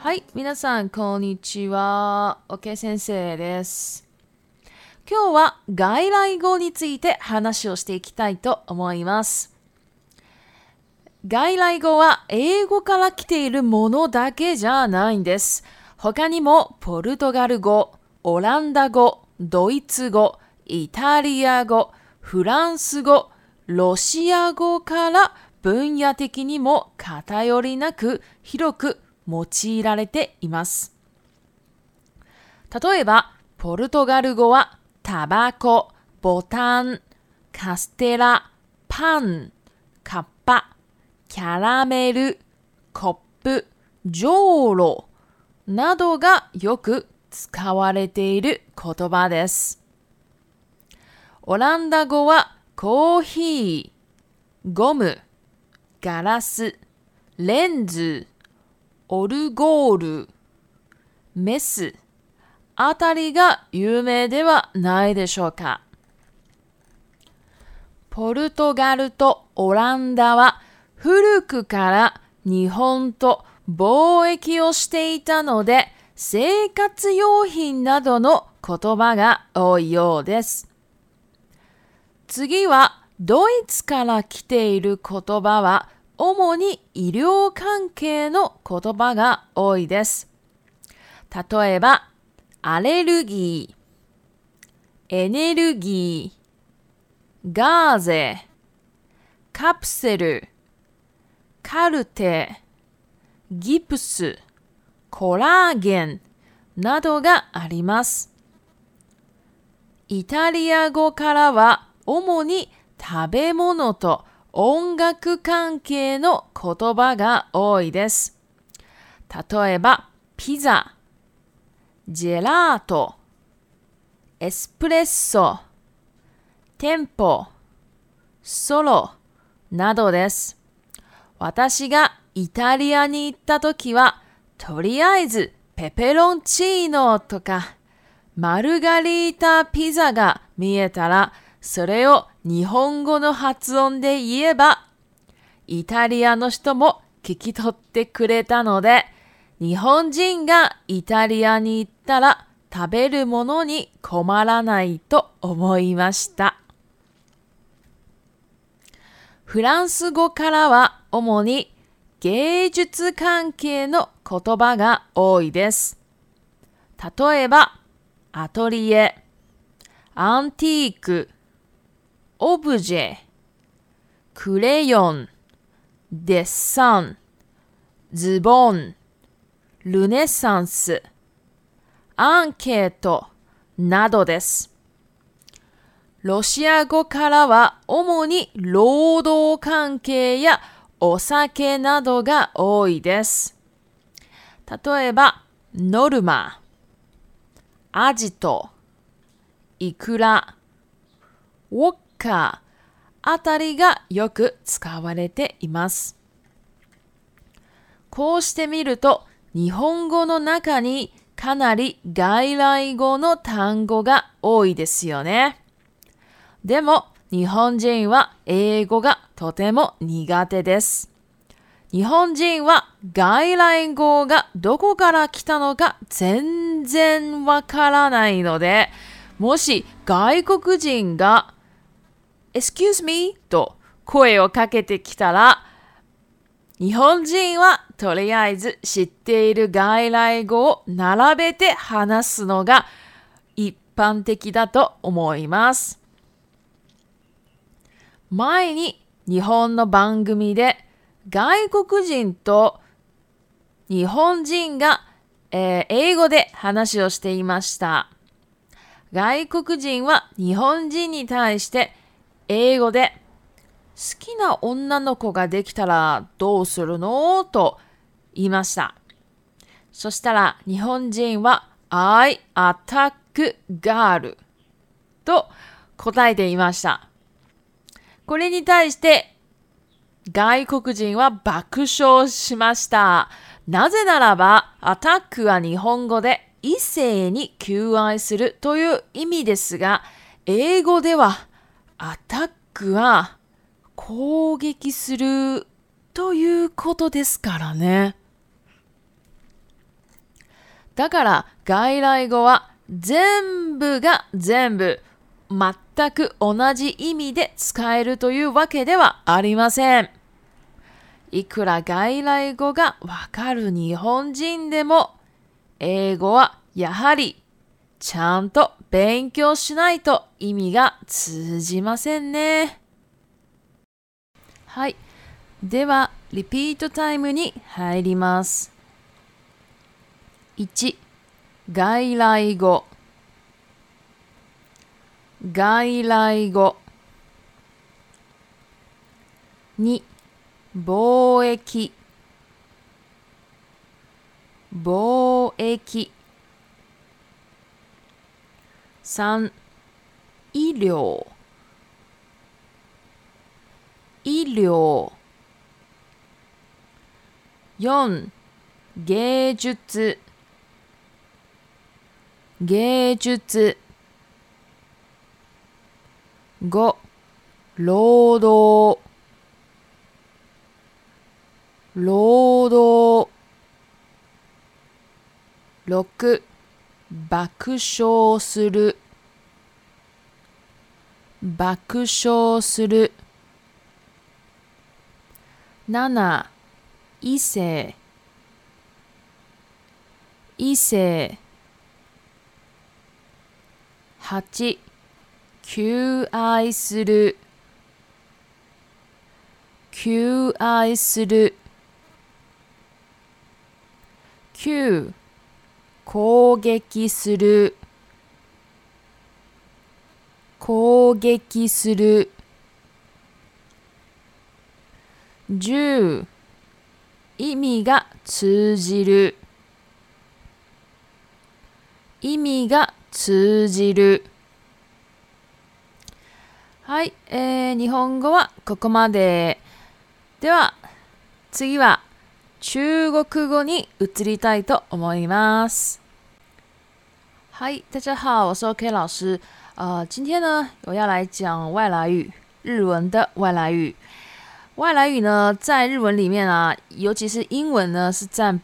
はい、皆さん、こんにちは。OK 先生です。今日は外来語について話をしていきたいと思います。外来語は英語から来ているものだけじゃないんです。他にもポルトガル語、オランダ語、ドイツ語、イタリア語、フランス語、ロシア語から分野的にも偏りなく広く用いられています。例えば、ポルトガル語はタバコ、ボタン、カステラ、パン、カッパ、キャラメル、コップ、ジョーロなどがよく使われている言葉です。オランダ語はコーヒー、ゴム、ガラス、レンズ、オルゴール、メスあたりが有名ではないでしょうか。ポルトガルとオランダは古くから日本と貿易をしていたので、生活用品などの言葉が多いようです。次はドイツから来ている言葉は主に医療関係の言葉が多いです。例えば、アレルギー、エネルギー、ガーゼ、カプセル、カルテ、ギプス、コラーゲンなどがあります。イタリア語からは主に食べ物と音楽関係の言葉が多いです。例えば、ピザ、ジェラート、エスプレッソ、テンポ、ソロなどです。私がイタリアに行ったときは、とりあえずペペロンチーノとかマルガリータピザが見えたら、それを日本語の発音で言えば、イタリアの人も聞き取ってくれたので、日本人がイタリアに行ったら食べるものに困らないと思いました。フランス語からは主に芸術関係の言葉が多いです。例えば、アトリエ、アンティーク、オブジェ、クレヨン、デッサン、ズボン、ルネサンス、アンケートなどです。ロシア語からは主に労働関係やお酒などが多いです。例えば、ノルマ、アジト、イクラ、ウォッカあたりがよく使われています。こうしてみると、日本語の中にかなり外来語の単語が多いですよね。でも、日本人は英語がとても苦手です。日本人は外来語がどこから来たのか全然わからないので、もし外国人がExcuse me と声をかけてきたら、日本人はとりあえず知っている外来語を並べて話すのが一般的だと思います。前に日本の番組で外国人と日本人が、英語で話をしていました。外国人は日本人に対して英語で好きな女の子ができたらどうするのと言いました。そしたら日本人は I attack girl と答えていました。これに対して外国人は爆笑しました。なぜならばアタックは日本語で異性に求愛するという意味ですが、英語ではアタックは攻撃するということですからね。 だから外来語は全部が全部全く同じ意味で使えるというわけではありません。いくら外来語がわかる日本人でも、英語はやはりちゃんと勉強しないと意味が通じませんね。はい。では、リピートタイムに入ります。1、外来語。外来語。2、貿易。貿易。3、医療。医療。4、芸術。芸術。5、労働。労働。6、爆笑する。爆笑する。7、異性。異性。8、求愛する。求愛する。9、攻撃する。攻撃する。10、意味が通じる。意味が通じる。はい、日本語はここまで。では、次は中国語に移りたいと思います。嗨，大家好，我是 OK 老师。今天呢，我要来讲外来语，日文的外来语。外来语呢，在日文里面啊，尤其是英文呢，是占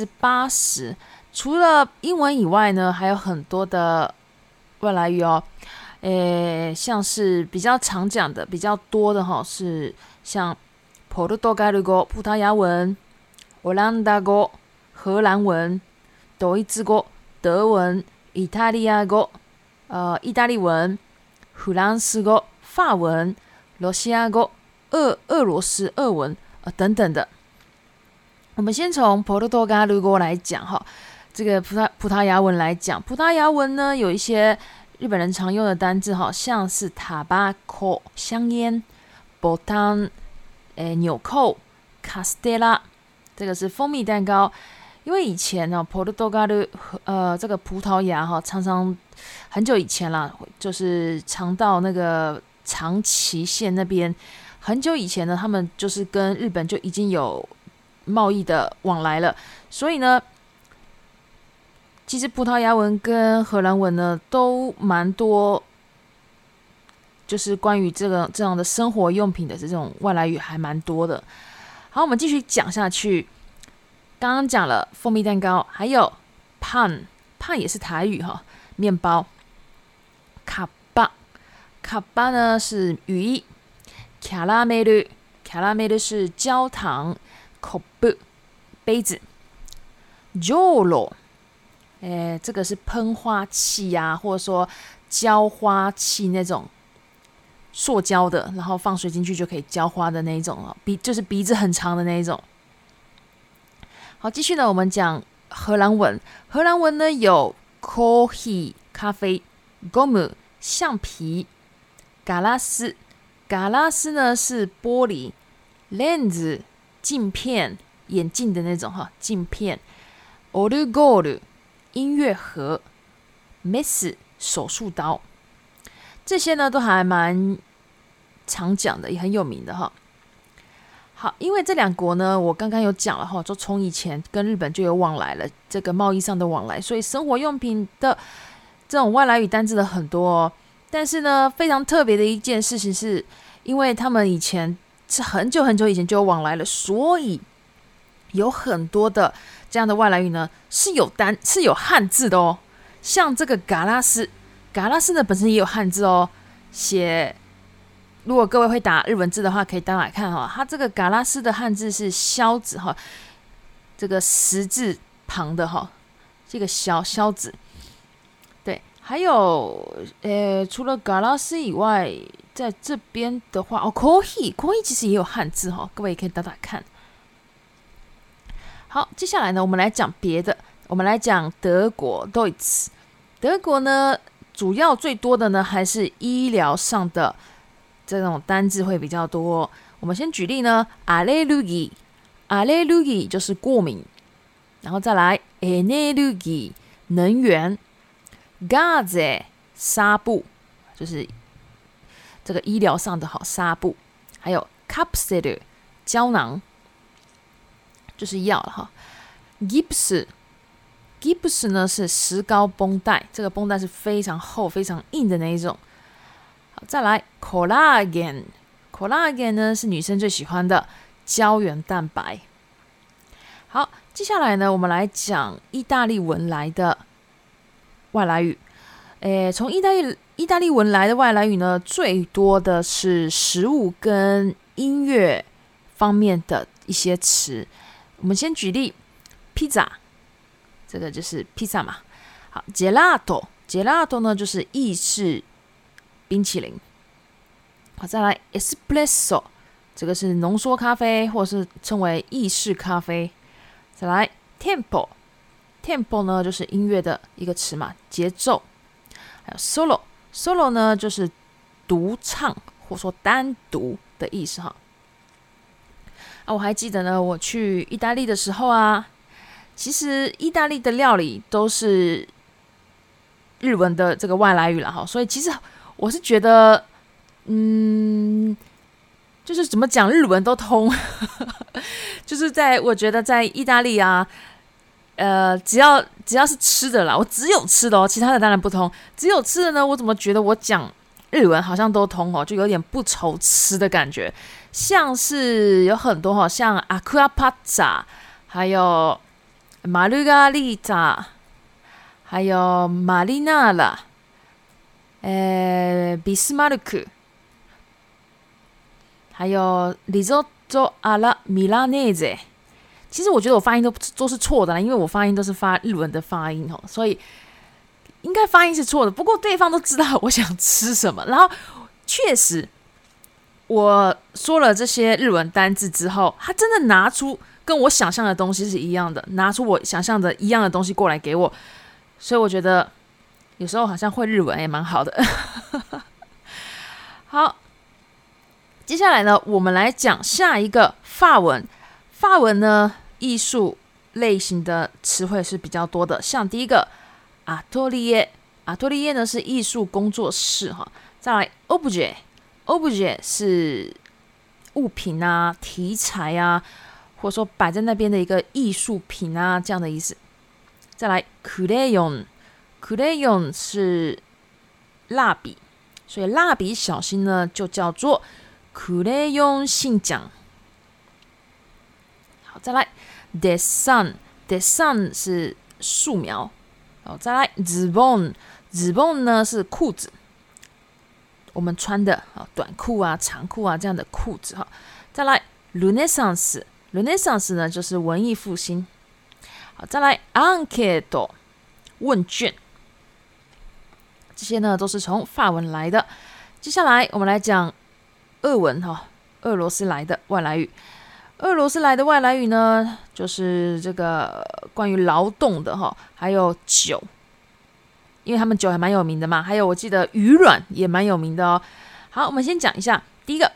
80%。除了英文以外呢，还有很多的外来语哦。像是比较常讲的、比较多的哈，是像ポルトガル語、葡萄牙文、オランダ語、荷兰文、ドイツ語、德文、イタリア語、意大利文、フランス語、法文、ロシア語、俄罗斯俄文等等的。我们先从ポルトガル語来讲哈，这个葡萄牙文来讲，葡萄牙文呢有一些日本人常用的单字哈，像是タバコ香烟、ボタン纽扣、カステラ，这个是蜂蜜蛋糕。因为以前呢，ポルトガル这个葡萄牙哈，常常很久以前啦，就是常到那个长崎县那边。很久以前呢，他们就是跟日本就已经有贸易的往来了，所以呢，其实葡萄牙文跟荷兰文呢都蛮多，就是关于这样的生活用品的这种外来语还蛮多的。好，我们继续讲下去。刚刚讲了蜂蜜蛋糕，还有パン也是台语哈，面包。カッパ呢是语义。キャラメル是焦糖。コップ杯子。ジョーロ这个是喷花器啊，或者说浇花器那种塑胶的，然后放水进去就可以浇花的那一种哦，就是鼻子很长的那一种。好，继续呢，我们讲荷兰文。荷兰文呢有 coffee 咖啡、gum 橡皮、ガラス呢是玻璃、レンズ镜片眼镜的那种哈镜片、オルゴール音乐盒、メス手术刀，这些呢都还蛮常讲的，也很有名的哈。好，因为这两国呢，我刚刚有讲了哈，就从以前跟日本就有往来了，这个贸易上的往来，所以生活用品的这种外来语单字的很多哦。但是呢，非常特别的一件事情是，因为他们以前是很久以前就有往来了，所以有很多的这样的外来语呢是有汉字的哦。像这个嘎拉斯呢本身也有汉字哦。如果各位会打日文字的话，可以打来看哈。它这个嘎拉斯的汉字是萧子哈，这个十字旁的哈，这个萧子。对，还有除了嘎拉斯以外，在这边的话coffee 其实也有汉字哈，各位也可以打看。好，接下来呢，我们来讲别的。我们来讲德国 Deutsch。德国呢，主要最多的呢还是医疗上的这种单字会比较多。我们先举例呢 ，Allergie 就是过敏，然后再来 Energie 能源 ，Gase 纱布就是这个医疗上的纱布，还有 Kapsel 胶囊就是药了哈 ，Gips 呢是石膏绷带，这个绷带是非常厚、非常硬的那一种。好，再来 Collagen 呢是女生最喜欢的胶原蛋白。好，接下来呢，我们来讲意大利文来的外来语。从意大利文来的外来语呢，最多的是食物跟音乐方面的一些词。我们先举例 ，pizza。这个就是披萨嘛。好 ，gelato 呢就是意式冰淇淋。好，再来 espresso， 这个是浓缩咖啡，或是称为意式咖啡。再来 tempo 呢就是音乐的一个词嘛，节奏。还有 solo 呢就是独唱或说单独的意思哈。我还记得呢，我去意大利的时候啊。其实意大利的料理都是日文的这个外来语啦哈，所以其实我是觉得，就是怎么讲日文都通，就是我觉得在意大利啊，只要是吃的啦，我只有吃的哦，其他的当然不通。只有吃的呢，我怎么觉得我讲日文好像都通哦，就有点不愁吃的感觉。像是有很多像阿库阿帕扎，还有玛丽嘎丽塔，还有玛丽娜拉，比斯马鲁克，还有risotto alla milanese。其实我觉得我发音都是错的啦，因为我发音都是发日文的发音哦，所以应该发音是错的。不过对方都知道我想吃什么，然后确实我说了这些日文单字之后，他真的拿出跟我想象的东西是一样的，拿出我想象的一样的东西过来给我，所以我觉得有时候好像会日文也蛮好的。好，接下来呢，我们来讲下一个法文。法文呢，艺术类型的词汇是比较多的，像第一个 atelier 呢是艺术工作室哈，再来 objet 是物品啊、题材啊，或者说摆在那边的一个艺术品啊，这样的意思。再来 crayon 是蜡笔，所以蜡笔小新呢就叫做 crayon 信奖。好，再来 dessin 是素描。好，再来 zibon 呢是裤子，我们穿的短裤啊、长裤啊这样的裤子哈。再来 Renaissance 呢就是文艺复兴。好，再来 Enquete 问卷，这些呢都是从法文来的。接下来我们来讲俄文哈，俄罗斯来的外来语。俄罗斯来的外来语呢，就是这个关于劳动的哈，还有酒，因为他们酒还蛮有名的嘛。还有我记得鱼卵也蛮有名的哦。好，我们先讲一下第一个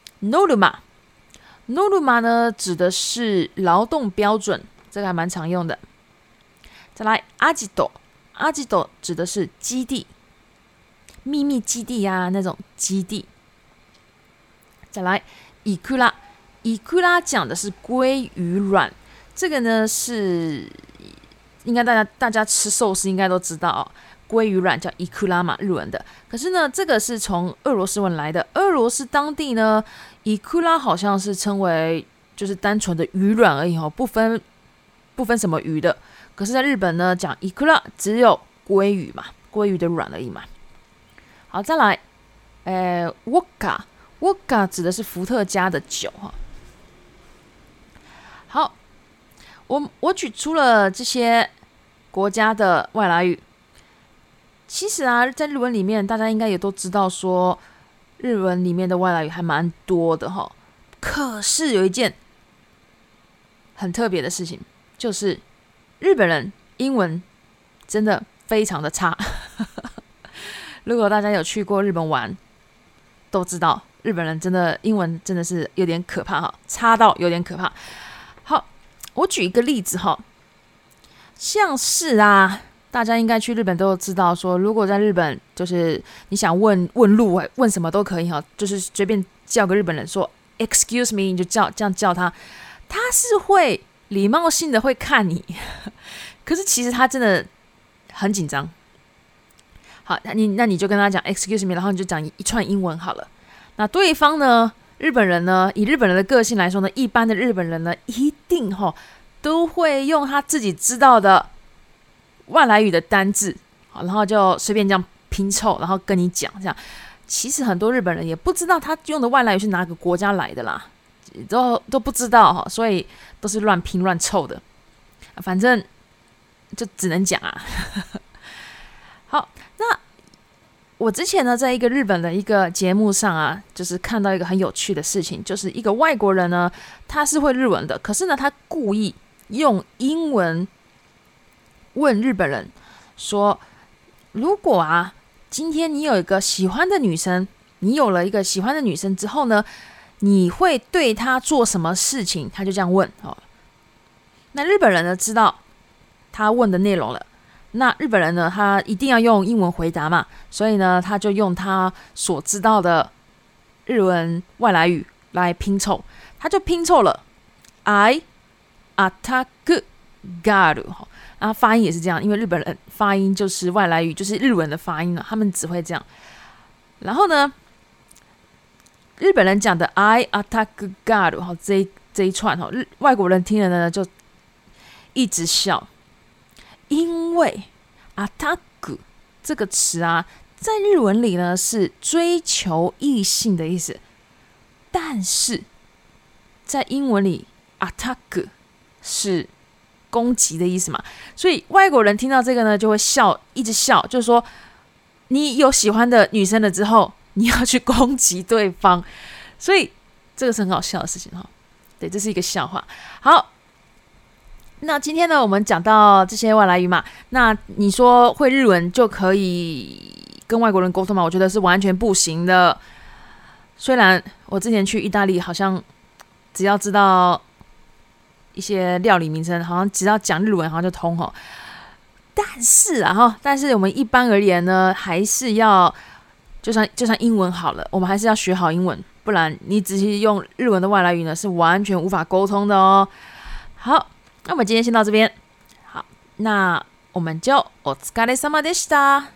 Norma 呢指的是劳动标准，这个还蛮常用的。再来 Agito 指的是基地，秘密基地啊那种基地。再来 Ikura 讲的是鲑鱼卵，这个呢是应该大家吃寿司应该都知道哦，鲑鱼卵叫 Ikura 嘛，日文的。可是呢，这个是从俄罗斯文来的，俄罗斯当地呢 Ikura 好像是称为就是单纯的鱼卵而已哦，不分什么鱼的。可是在日本呢，讲イクラ只有鲑鱼嘛，鲑鱼的卵而已嘛。好，再来，wodka 指的是伏特加的酒哈。好，我举出了这些国家的外来语。其实啊，在日文里面，大家应该也都知道说，日文里面的外来语还蛮多的哈。可是有一件很特别的事情，就是日本人英文真的非常的差。如果大家有去过日本玩，都知道日本人真的英文真的是有点可怕哈，差到有点可怕。好，我举一个例子哈，像是啊，大家应该去日本都知道说，如果在日本就是你想问路，问什么都可以哈，就是随便叫个日本人说 "Excuse me"， 你就这样叫他，他是会礼貌性的会看你，可是其实他真的很紧张。好，那你就跟他讲 "Excuse me"， 然后你就讲一串英文好了。那对方呢，日本人呢，以日本人的个性来说呢，一般的日本人呢，一定都会用他自己知道的外来语的单字，好，然后就随便这样拼凑，然后跟你讲这样。其实很多日本人也不知道他用的外来语是哪个国家来的啦，都不知道哈，所以都是乱拼乱凑的。反正就只能讲啊。好，那我之前呢，在一个日本的一个节目上啊，就是看到一个很有趣的事情，就是一个外国人呢，他是会日文的，可是呢，他故意用英文问日本人说，如果啊，今天你有一个喜欢的女生，你有了一个喜欢的女生之后呢，你会对她做什么事情？他就这样问哦。那日本人呢，知道他问的内容了。那日本人呢，他一定要用英文回答嘛，所以呢，他就用他所知道的日文外来语来拼凑，他就拼凑了 I attack girl， 然后发音也是这样，因为日本人发音就是外来语，就是日文的发音了，他们只会这样。然后呢，日本人讲的 I attack girl 这一串外国人听了呢就一直笑。因为 attack 这个词啊，在日文里呢是追求异性的意思，但是在英文里 attack 是攻击的意思嘛，所以外国人听到这个呢就会笑，一直笑，就是说你有喜欢的女生了之后，你要去攻击对方，所以这个是很好笑的事情哈。对，这是一个笑话。好。那今天呢，我们讲到这些外来语嘛，那你说会日文就可以跟外国人沟通吗？我觉得是完全不行的。虽然我之前去意大利，好像只要知道一些料理名称，好像只要讲日文好像就通吼。但是我们一般而言呢，还是要就算英文好了，我们还是要学好英文，不然你只是用日文的外来语呢，是完全无法沟通的哦。好。那我们今天先到这边，好，那我们就お疲れ様でした。